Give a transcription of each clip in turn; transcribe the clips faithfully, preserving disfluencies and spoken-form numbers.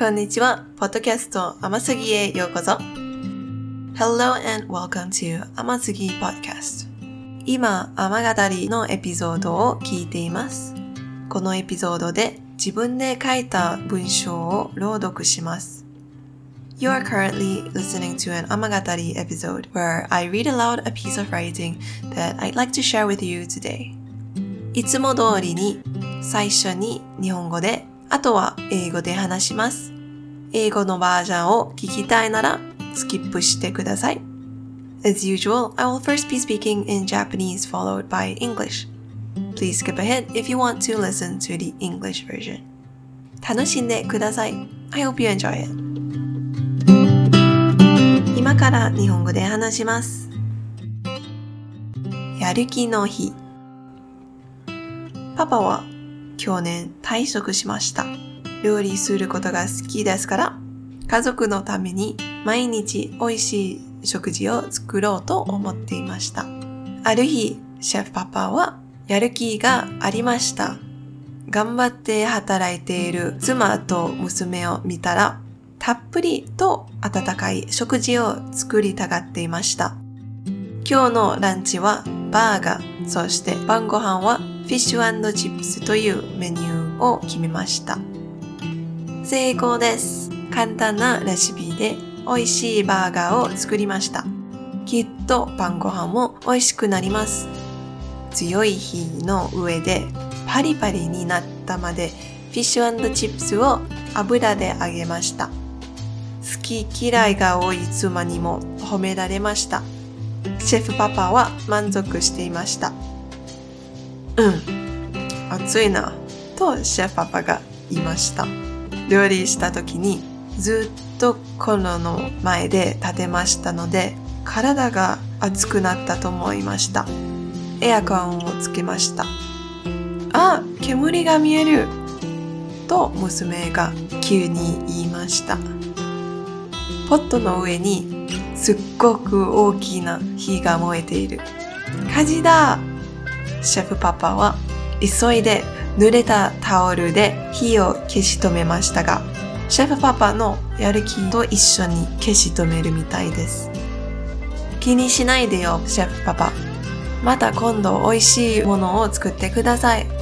こんにちは。ポッドキャスト甘すぎへようこそ。Hello and welcome to 甘すぎ Podcast。今、甘語りのエピソードを聞いています。このエピソードで自分で書いた文章を朗読します。You are currently listening to an 甘語り episode where I read aloud a piece of writing that I'd like to share with you today. いつも通りに最初に日本語で、あとは英語で話します。英語のバージョンを聞きたいならスキップしてください。As usual, I will first be speaking in Japanese followed by English. Please skip ahead if you want to listen to the English version. 楽しんでください。I hope you enjoy it. 今から日本語で話します。やる気の日。パパは去年退職しました。料理することが好きですから、家族のために毎日美味しい食事を作ろうと思っていました。ある日、シェフパパはやる気がありました。頑張って働いている妻と娘を見たら、たっぷりと温かい食事を作りたがっていました。今日のランチはバーガー、そして晩ご飯はフィッシュ&チップスというメニューを決めました。成功です。簡単なレシピで美味しいバーガーを作りました。きっと晩ご飯も美味しくなります。強い火の上でパリパリになったまでフィッシュ&チップスを油で揚げました。好き嫌いが多い妻にも褒められました。シェフパパは満足していました。うん、暑いな、とシェフパパが言いました。料理した時にずっとコンロの前で立てましたので、体が熱くなったと思いました。エアコンをつけました。あ、煙が見える、と娘が急に言いました。ポットの上にすっごく大きな火が燃えている。火事だ！シェフパパは急いで濡れたタオルで火を消し止めましたが、シェフパパのやる気と一緒に消し止めるみたいです。気にしないでよ、シェフパパ。また今度美味しいものを作ってください。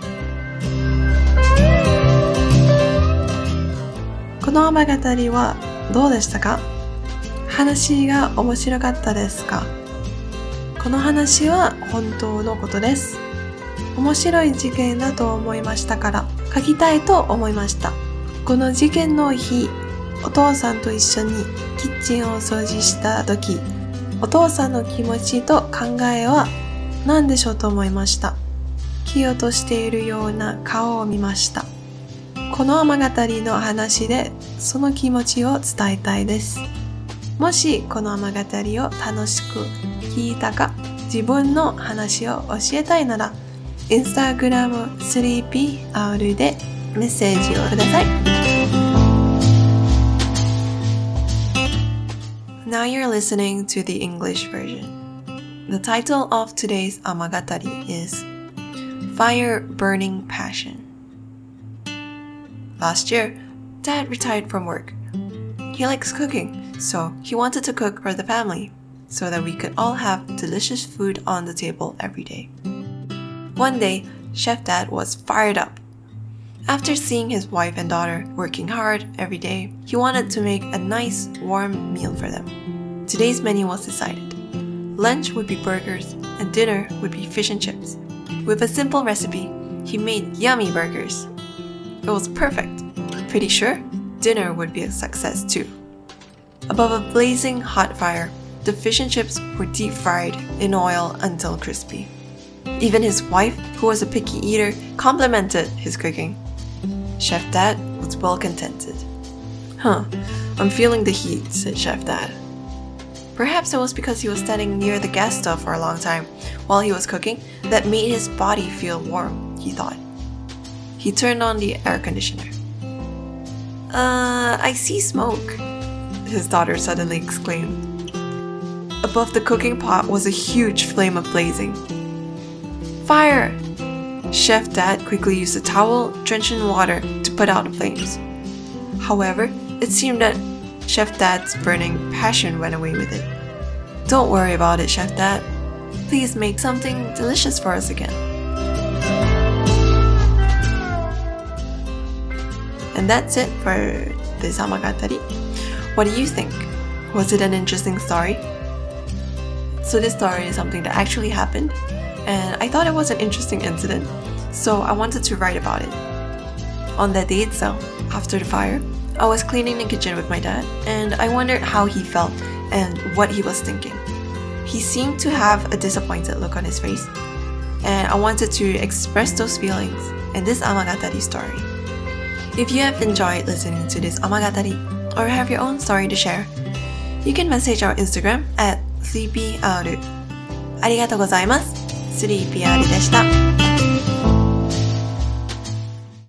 この甘語りはどうでしたか？話が面白かったですか？この話は本当のことです。面白い事件だと思いましたから書きたいと思いました。この事件の日、お父さんと一緒にキッチンを掃除した時、お父さんの気持ちと考えは何でしょうと思いました。気を落としているような顔を見ました。この甘語りの話でその気持ちを伝えたいです。もしこの甘語りを楽しく聞いたか、自分の話を教えたいなら、インスタグラム スリーピーアール でメッセージをください。Now you're listening to the English version. The title of today's 甘語り is Fire Burning Passion. Last year, Dad retired from work. He likes cooking, so he wanted to cook for the family, so that we could all have delicious food on the table every day. One day, Chef Dad was fired up. After seeing his wife and daughter working hard every day, he wanted to make a nice, warm meal for them. Today's menu was decided. Lunch would be burgers, and dinner would be fish and chips. With a simple recipe, he made yummy burgers. It was perfect. Pretty sure dinner would be a success too. Above a blazing hot fire, the fish and chips were deep fried in oil until crispy. Even his wife, who was a picky eater, complimented his cooking. Chef Dad was well contented. Huh, I'm feeling the heat, said Chef Dad. Perhaps it was because he was standing near the gas stove for a long time while he was cooking that made his body feel warm, he thought. He turned on the air conditioner. Uh, I see smoke, his daughter suddenly exclaimed. Above the cooking pot was a huge flame blazing. Fire! Chef Dad quickly used a towel drenched in water to put out the flames. However, it seemed that Chef Dad's burning passion went away with it. Don't worry about it, Chef Dad. Please make something delicious for us again. And that's it for this Amagatari. What do you think? Was it an interesting story? So this story is something that actually happened, and I thought it was an interesting incident, so I wanted to write about it. On that day itself, after the fire, I was cleaning the kitchen with my dad, and I wondered how he felt and what he was thinking. He seemed to have a disappointed look on his face, and I wanted to express those feelings in this Amagatari story. If you have enjoyed listening to this Amagatari or have your own story to share, you can message our Instagram at sleepyr. ありがとうございます。スリーピーアール でした。